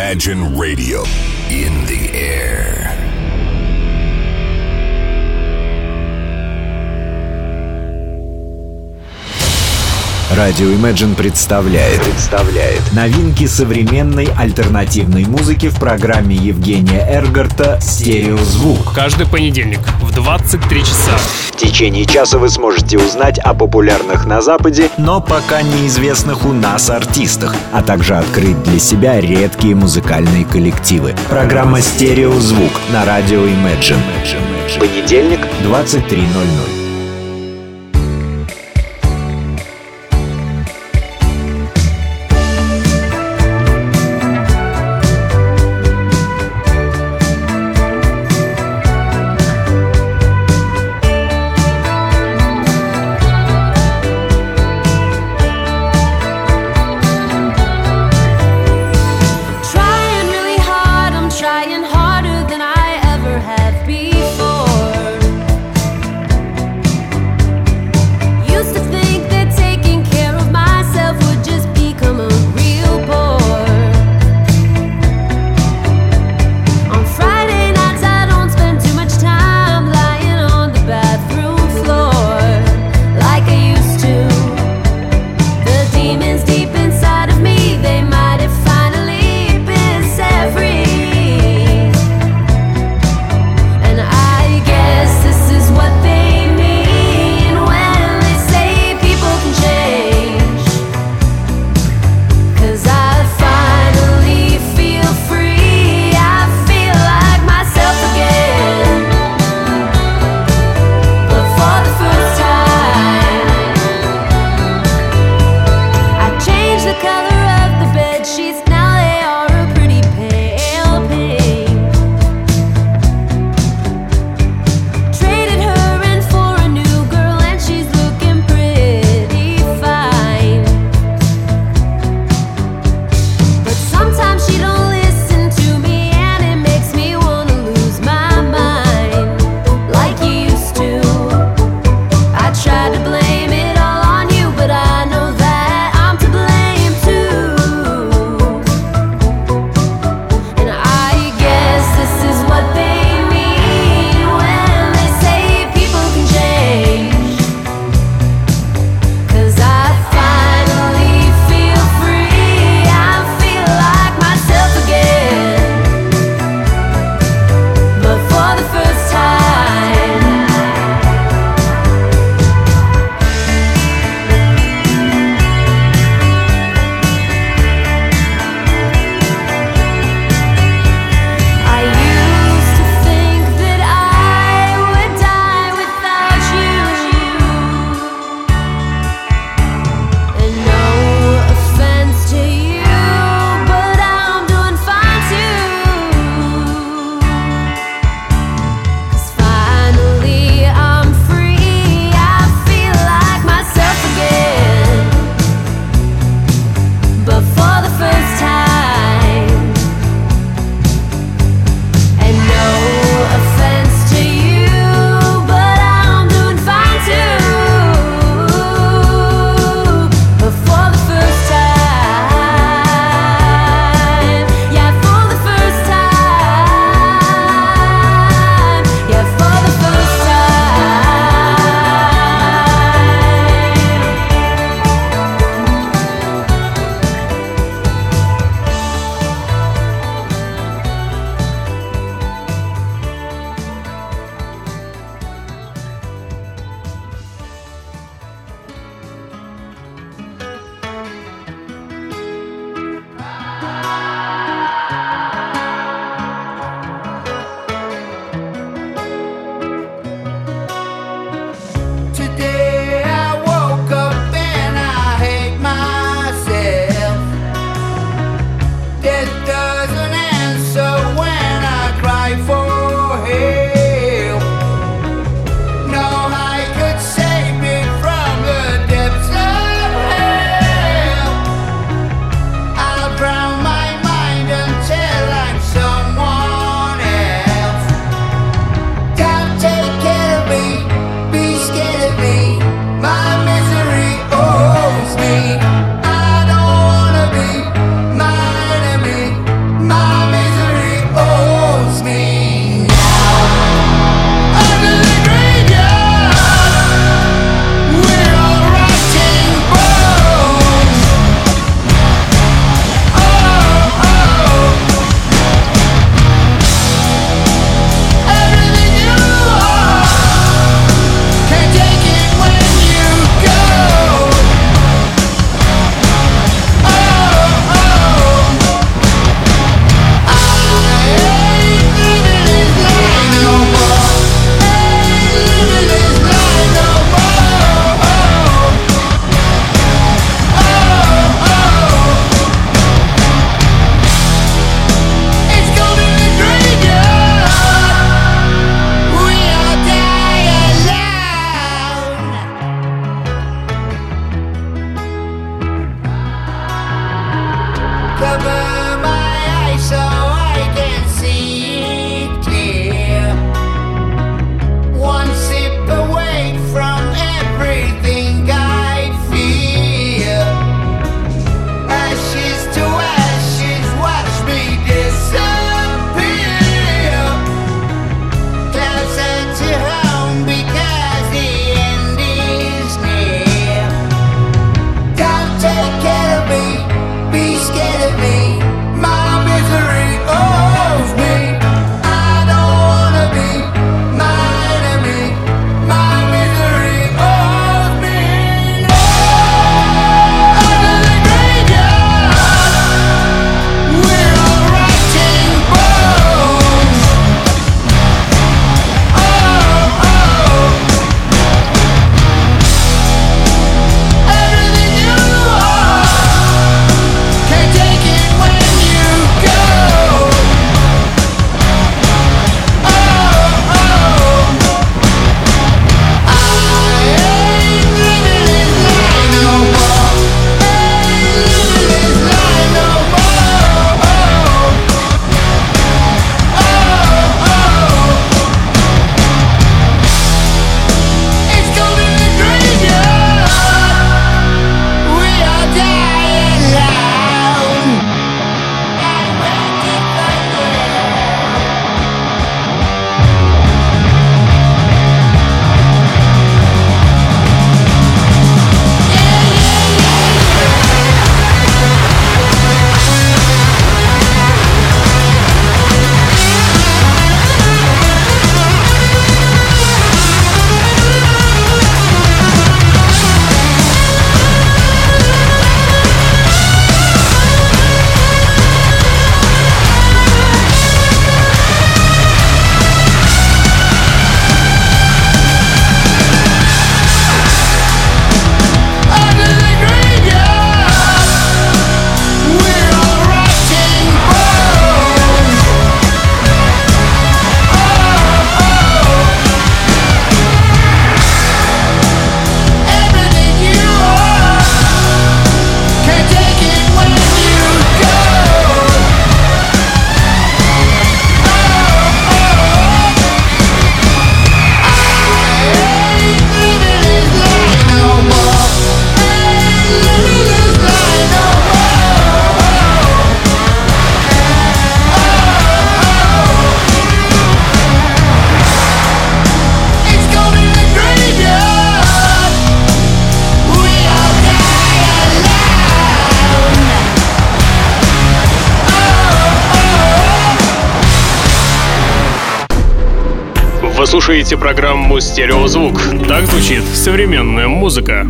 Imagine Radio. In the air. Радио Imagine представляет новинки современной альтернативной музыки в программе Евгения Эргарта «Стереозвук». Каждый понедельник в 23 часа. В течение часа вы сможете узнать о популярных на Западе, но пока неизвестных у нас артистах, а также открыть для себя редкие музыкальные коллективы. Программа «Стереозвук» на радио Imagine. Понедельник, 23:00. Trying harder than I ever have before. слушаете программу «Стереозвук». Так звучит современная музыка.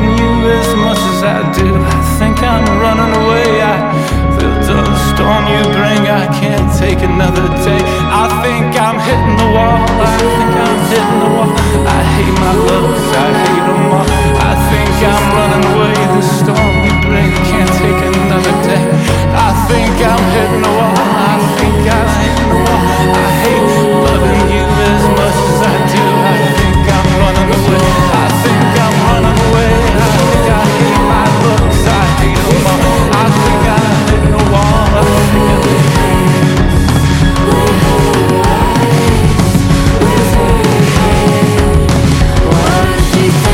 loving you as much as I do. I think I'm running away. I feel the storm you bring. I can't take another day. I think I'm hitting the wall. I think I'm hitting the wall. I hate my looks, I hate them all. I think I'm running away. The storm you bring can't take another day. I think I'm hitting the wall. I think I'm hitting the wall. I hate loving you as much as I do. I think I'm running away. I think I'm running away. I think I hate my looks, I hate them all. I think I'm hitting the wall. I think I'm What did you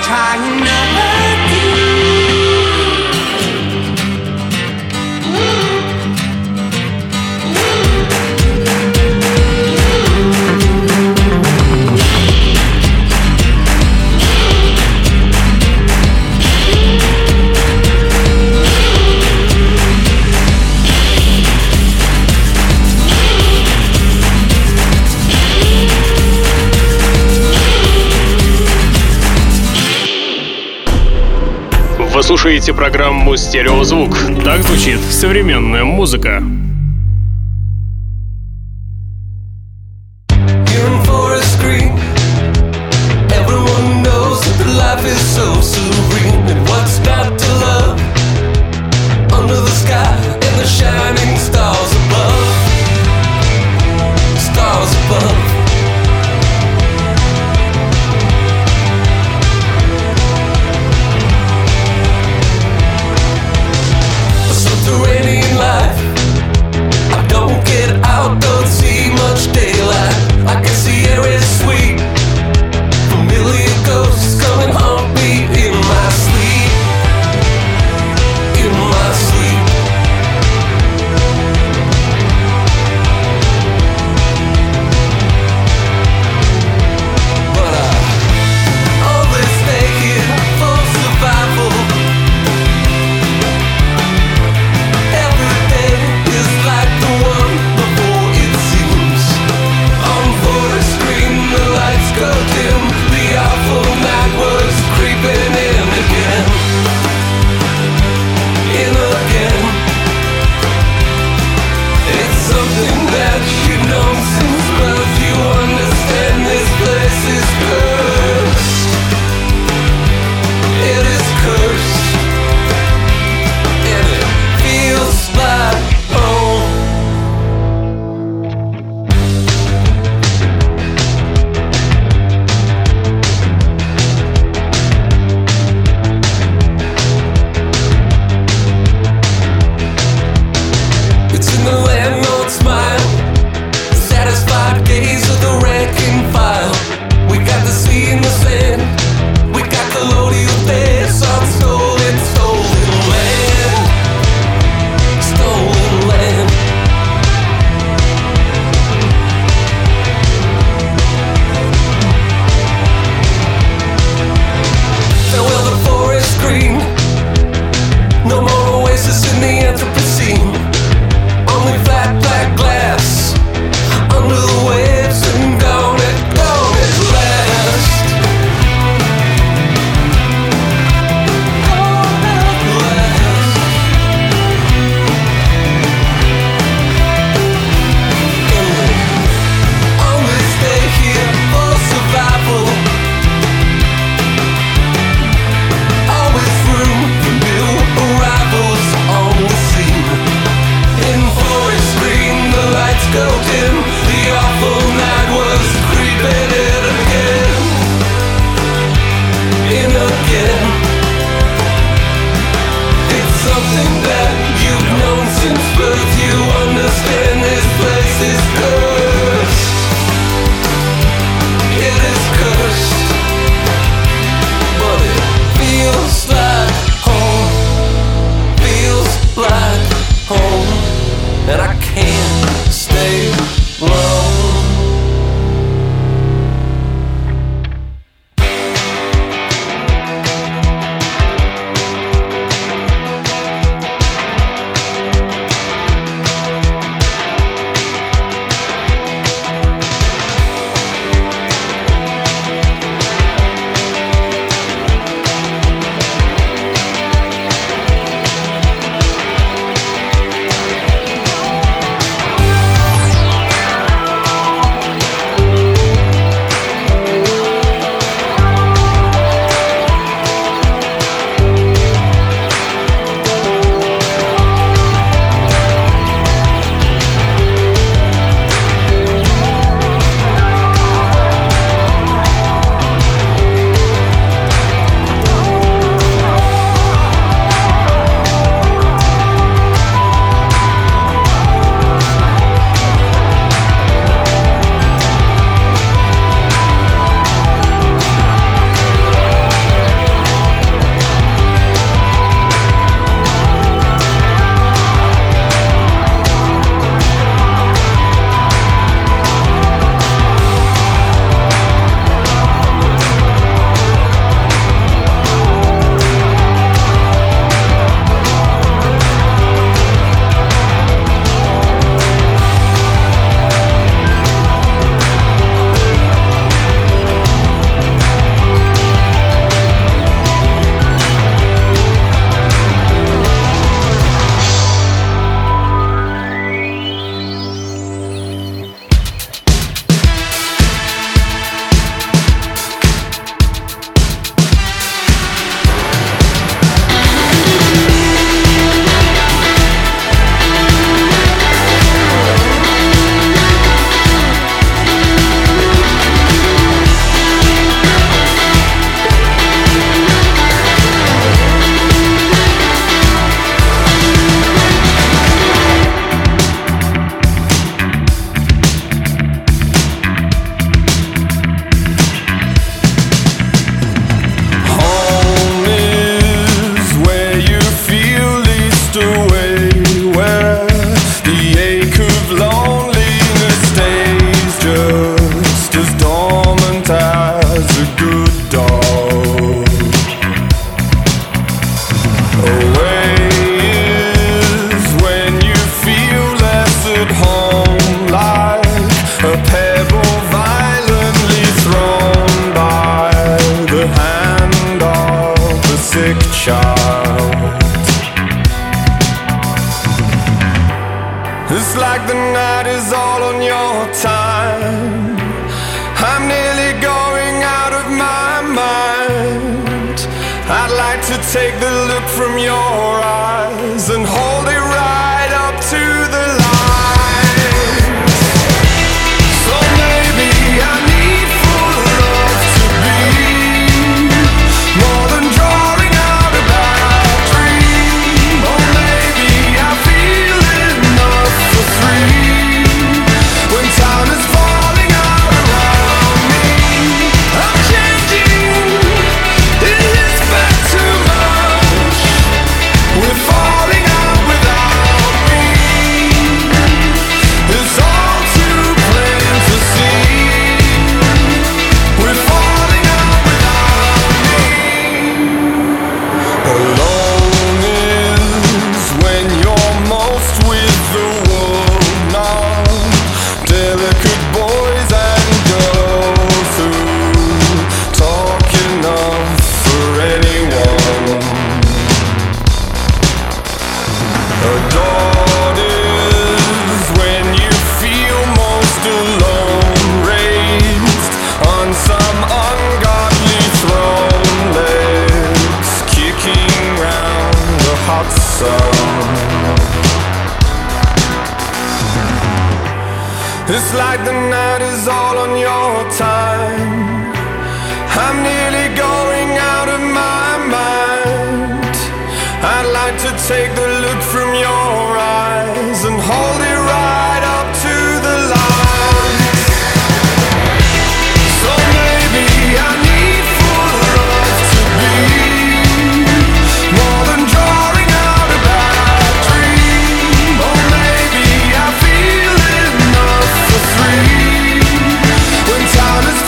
trying not to. Вы слушаете программу «Стереозвук». Так звучит современная музыка. Subterranean life mind. I'd like to take the look from your eyes and hold it right up to the light. So maybe I need for love to be more than drawing out a bad dream. Or maybe I feel enough for three when time is falling out around me. I'm changing, it is back too much. We're falling out without me. It's all too plain to see. We're falling out without me. Alone is when you're most with the world now. Delicate boys and girls who talk enough for anyone. Adored is when you feel most alone, raised on some ungodly throne, legs kicking round the hot sun. It's like the night is all on your time. I'm nearly going out of my mind. I'd like to take the look from your eyes and hold it right up to the light. So maybe I need for love to be more than drawing out a bad dream. Or maybe I feel enough for three when time is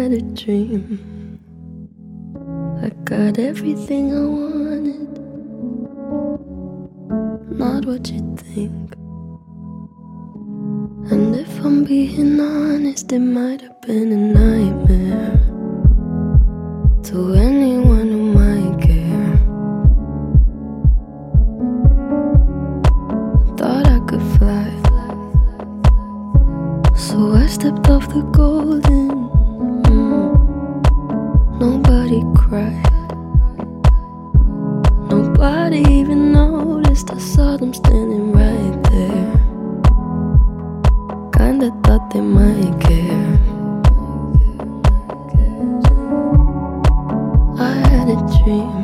had a dream. I got everything I wanted, not what you think. And if I'm being honest, it might have been a nightmare to anyone who might care. Thought I could fly, so I stepped off the golden. Nobody cried, nobody even noticed. I saw them standing right there. Kinda thought they might care. I had a dream.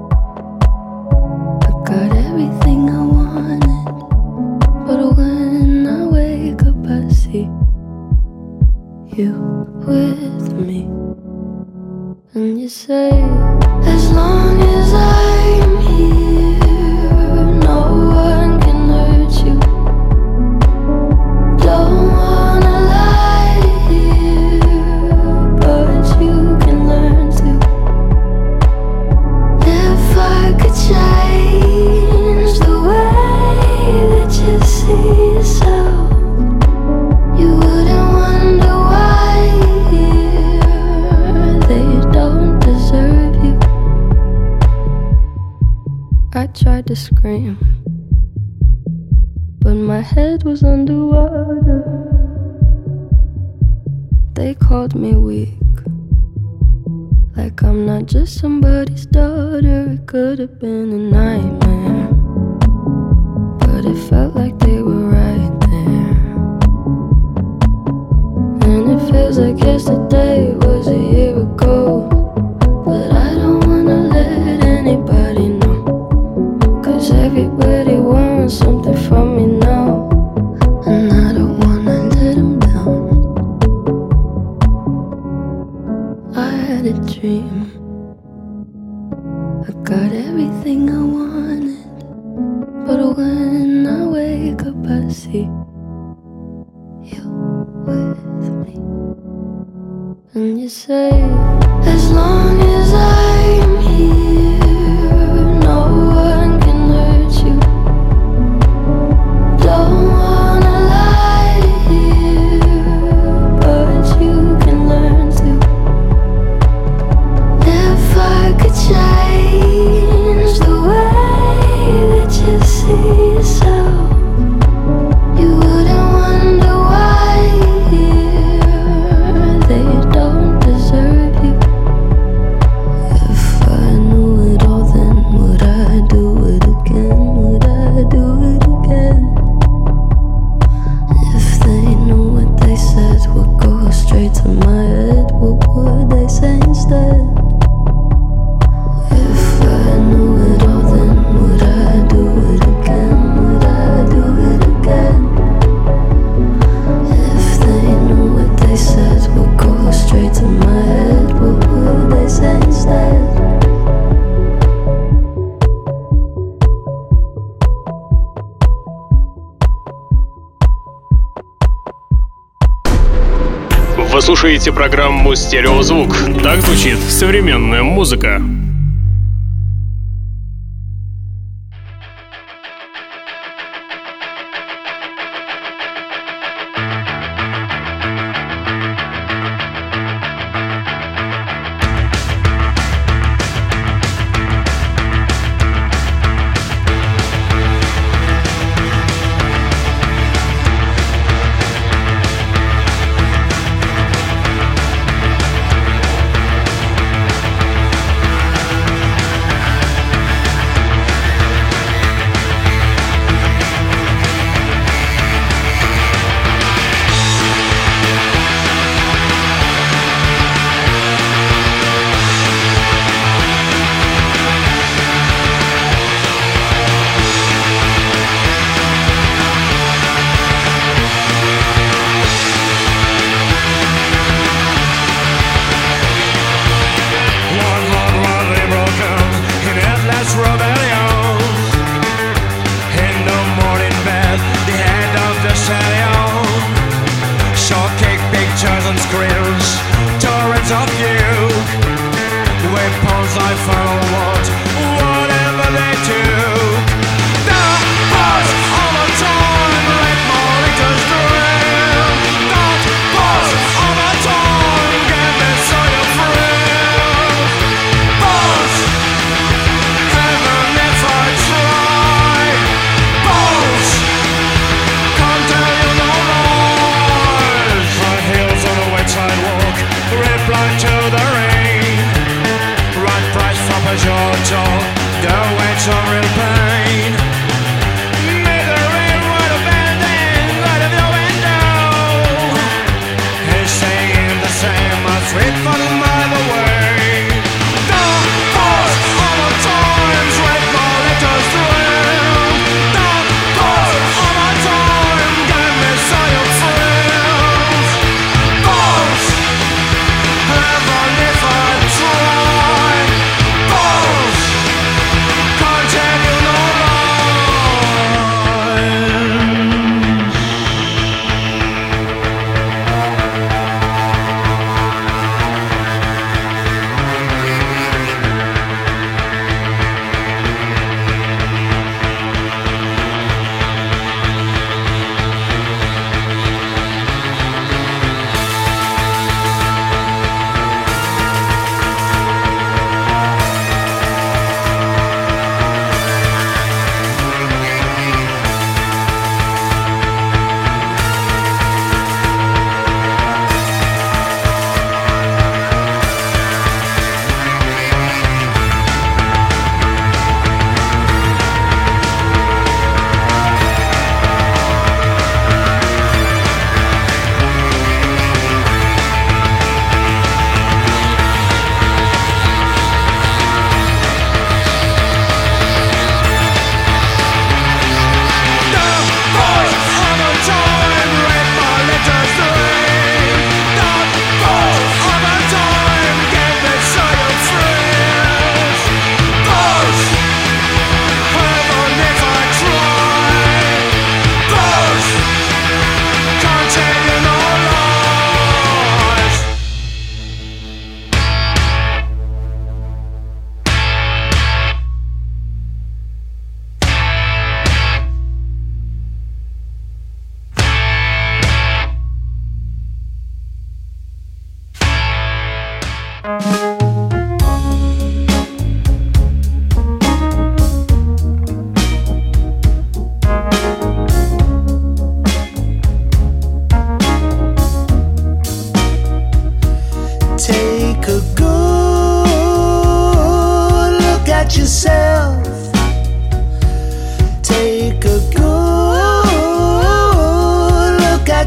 I got everything I wanted, but when I wake up I see you with me. And you say, as long as I'm here, no one can hurt you. Don't wanna lie here, but you can learn to. If I could change the way that you see yourself, you wouldn't wonder why they don't deserve you. I tried to scream, but my head was underwater. They called me weak, like I'm not just somebody's daughter. It could have been a nightmare, but it felt like they were right there. And it feels like yesterday was a year ago, but I don't wanna let anybody know, 'cause everybody wants something from me now, and I don't wanna let them down. I had a dream. I got everything I wanted, but when I wake up I see you with me. And you say, as long as I'm here, no one can hurt you. Don't wanna lie here, but you can learn to. If I could change the way that you see yourself, you wouldn't wonder why they don't deserve you. If I knew it all, then would I do it again? Would I do it again? If they knew what they said would go straight to my head, what would they say instead? If I knew it all, then would I do it again? Would I do it again? If they knew what they said would go straight to my head, what would they say instead? Вы слушаете программу «Стереозвук». Так звучит современная музыка.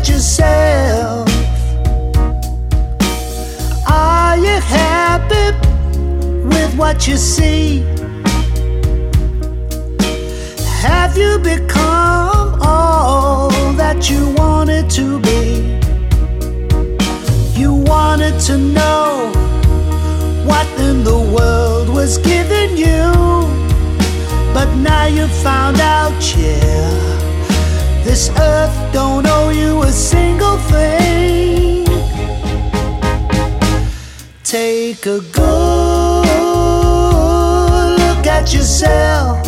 at yourself. Are you happy with what you see? Have you become all that you wanted to be? You wanted to know what in the world was given you, but now you found out, yeah, this earth don't owe you a single thing. Take a good look at yourself.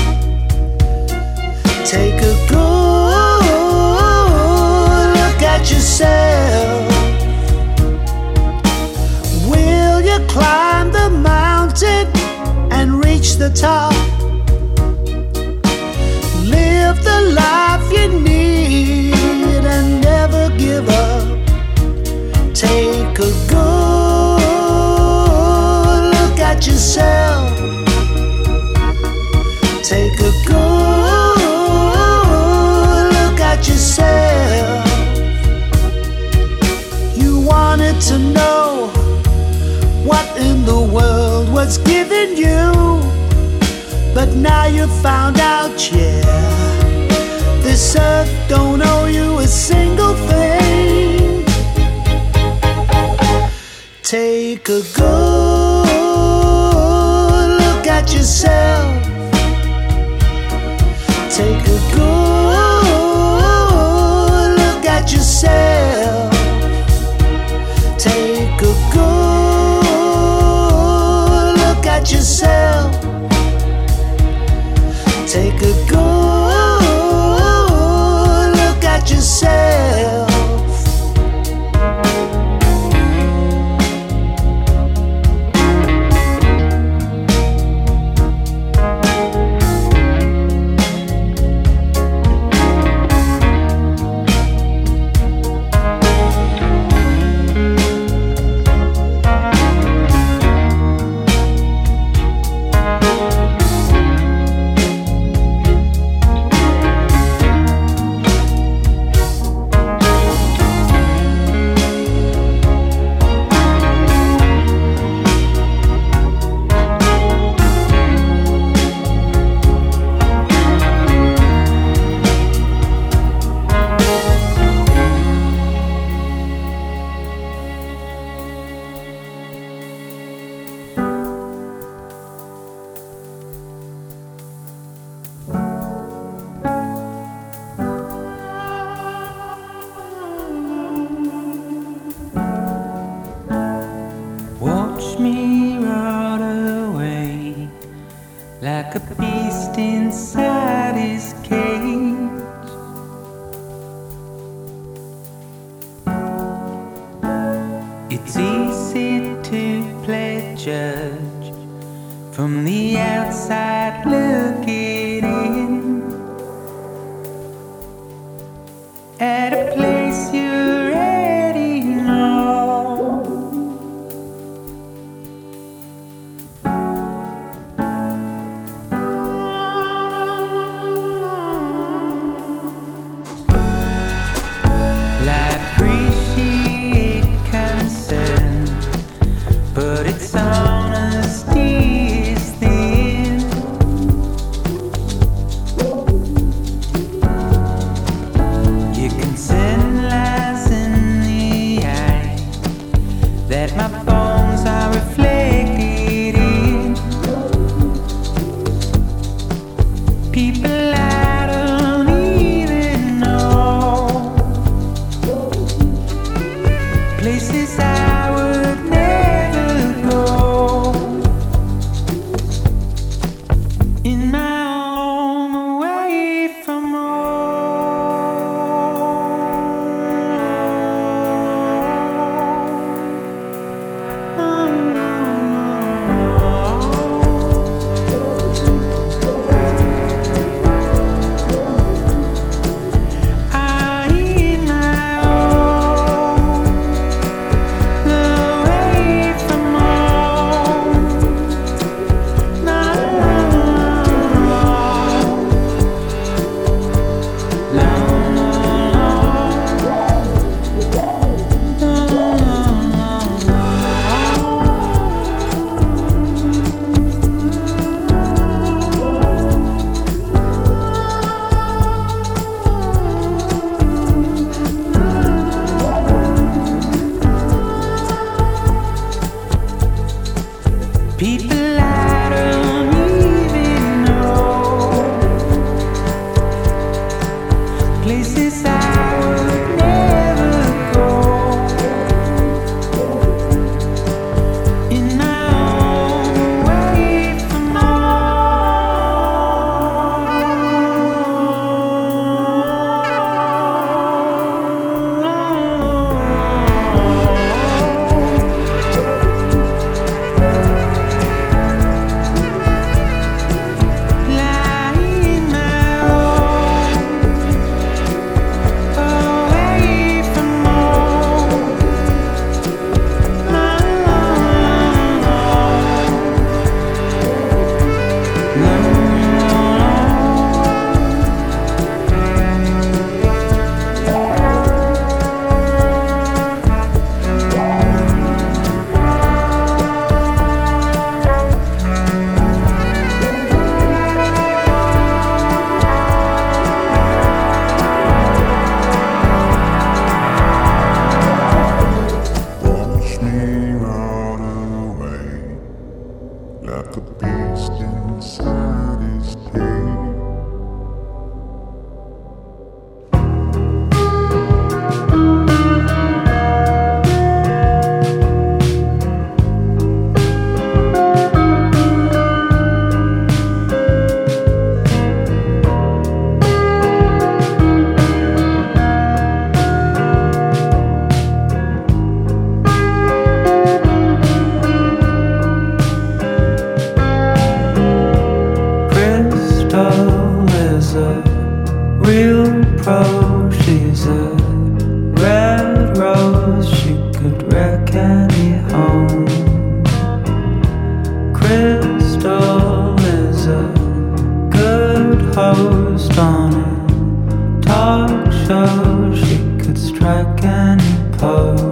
Take a good look at yourself. Will you climb the mountain and reach the top? Live the life you need and never give up. Take a good look at yourself. Take a good look at yourself. You wanted to know what in the world was given you, but now you found out, yeah, this earth don't owe you a single thing. Take a good look at yourself. Take a good look at yourself. Take a good look at yourself. Take a good look at yourself. is a real pro. She's a red rose. She could wreck any home. Crystal is a good host on a talk show. She could strike any pose.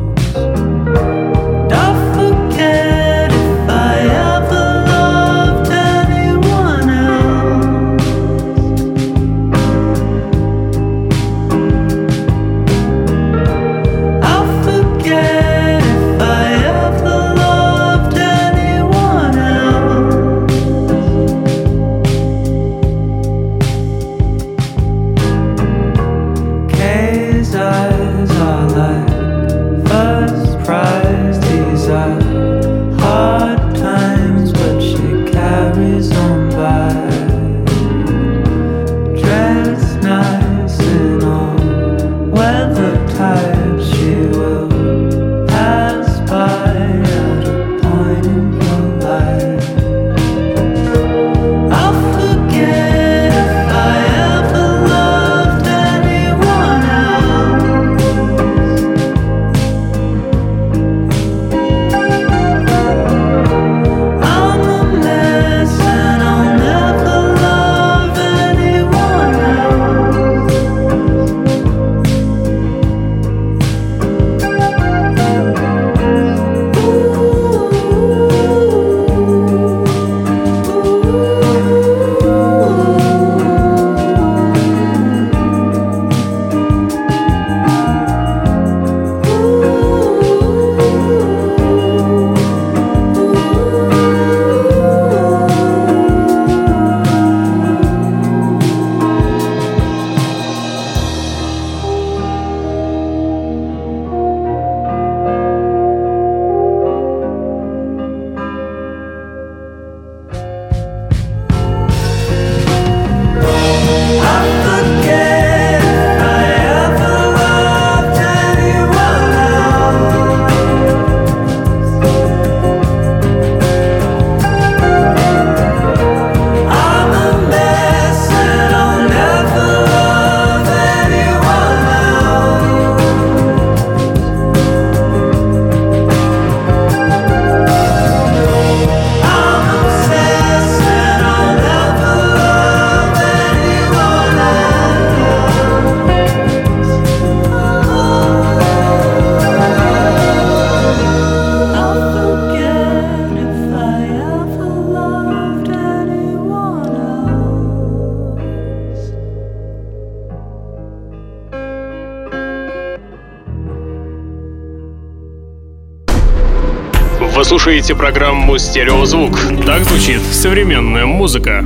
Вы слушаете программу «Стереозвук». Так звучит современная музыка.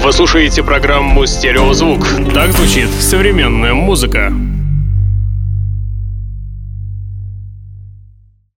Вы слушаете программу «Стереозвук». Так звучит современная музыка.